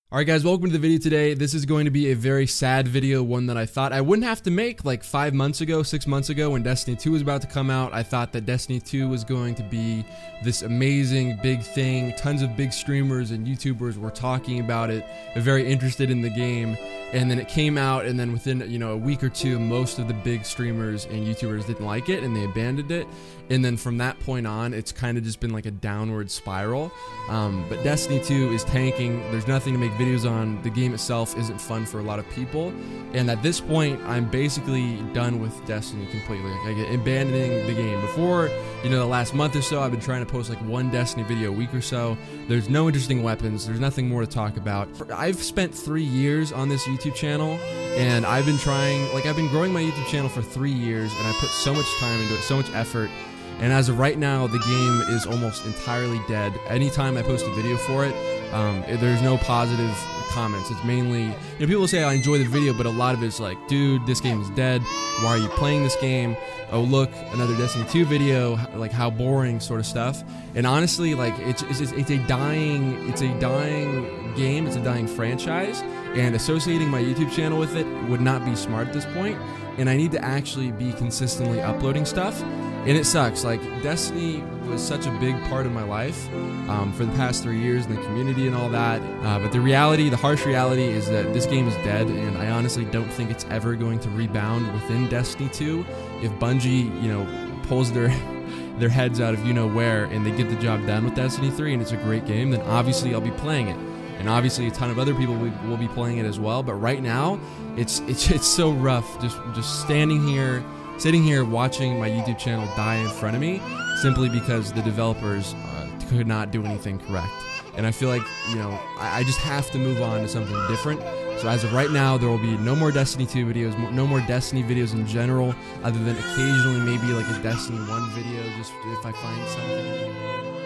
Alright guys, welcome to the video today. This is going to be a very sad video, one that I thought I wouldn't have to make like 5 months ago, 6 months ago when Destiny 2 was about to come out. I thought that Destiny 2 was going to be this amazing big thing. Tons of big streamers and YouTubers were talking about it, very interested in the game. And then it came out, and then within a week or two, most of the big streamers and YouTubers didn't like it and they abandoned it. And then from that point on, it's kind of just been like a downward spiral. But Destiny 2 is tanking. There's nothing to make videos on. The game itself isn't fun for a lot of people. And at this point, I'm basically done with Destiny completely. Like, abandoning the game. Before, the last month or so, I've been trying to post like one Destiny video a week or so. There's no interesting weapons. There's nothing more to talk about. I've spent 3 years on this YouTube channel, and I've been growing my YouTube channel for 3 years, and I put so much time into it, so much effort. And as of right now, the game is almost entirely dead. Anytime I post a video for it, there's no positive comments. It's mainly, people say I enjoy the video, but a lot of it's like, dude, this game is dead. Why are you playing this game? Oh, look, another Destiny 2 video, like how boring sort of stuff. And honestly, like it's a dying game. It's a dying franchise, and associating my YouTube channel with it would not be smart at this point. And I need to actually be consistently uploading stuff. And it sucks. Like, Destiny was such a big part of my life for the past 3 years in the community and all that. But the harsh reality is that this game is dead, and I honestly don't think it's ever going to rebound within Destiny 2. If Bungie, pulls their heads out of where and they get the job done with Destiny 3 and it's a great game, then obviously I'll be playing it. And obviously a ton of other people will be playing it as well. But right now, it's so rough just sitting here watching my YouTube channel die in front of me simply because the developers could not do anything correct. And I feel like, I just have to move on to something different. So as of right now, there will be no more Destiny 2 videos, no more Destiny videos in general, other than occasionally maybe like a Destiny 1 video, just if I find something.